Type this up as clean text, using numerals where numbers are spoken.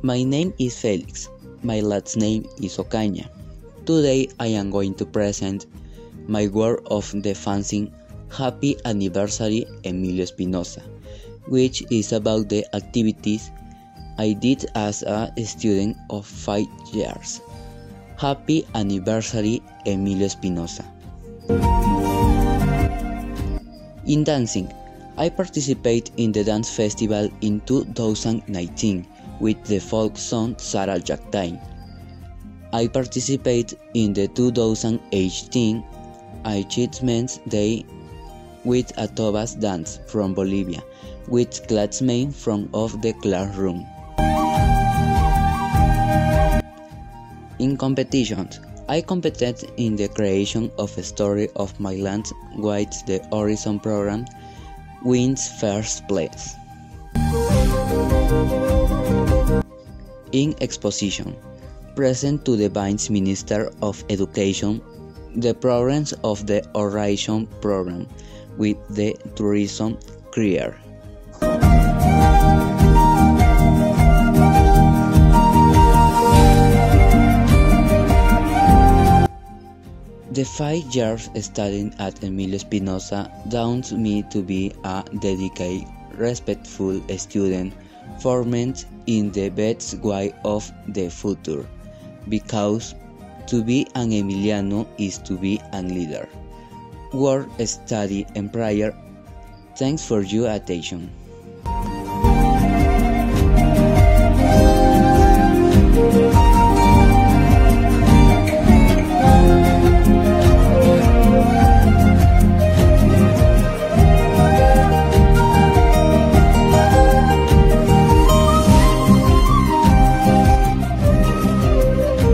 My name is Felix. My last name is Ocaña. Today I am going to present my work of the fanzine Happy Anniversary Emilio Espinosa, which is about the activities I did as a student of 5 years. Happy Anniversary Emilio Espinosa. In dancing, I participated in the dance festival in 2019 with the folk song Sarah Jactain. I participated in the 2018 Achievements Day with a Tobas dance from Bolivia with classmates from of the classroom. In competitions, I competed in the creation of a story of my land with the Horizon program wins first place. In exposition, present to the Vice Minister of Education the progress of the Horizon program with the tourism career. The 5 years studying at Emilio Espinosa taught me to be a dedicated, respectful student formed in the best way of the future, because to be an Emiliano is to be a leader. Work, study, and prayer. Thanks for your attention.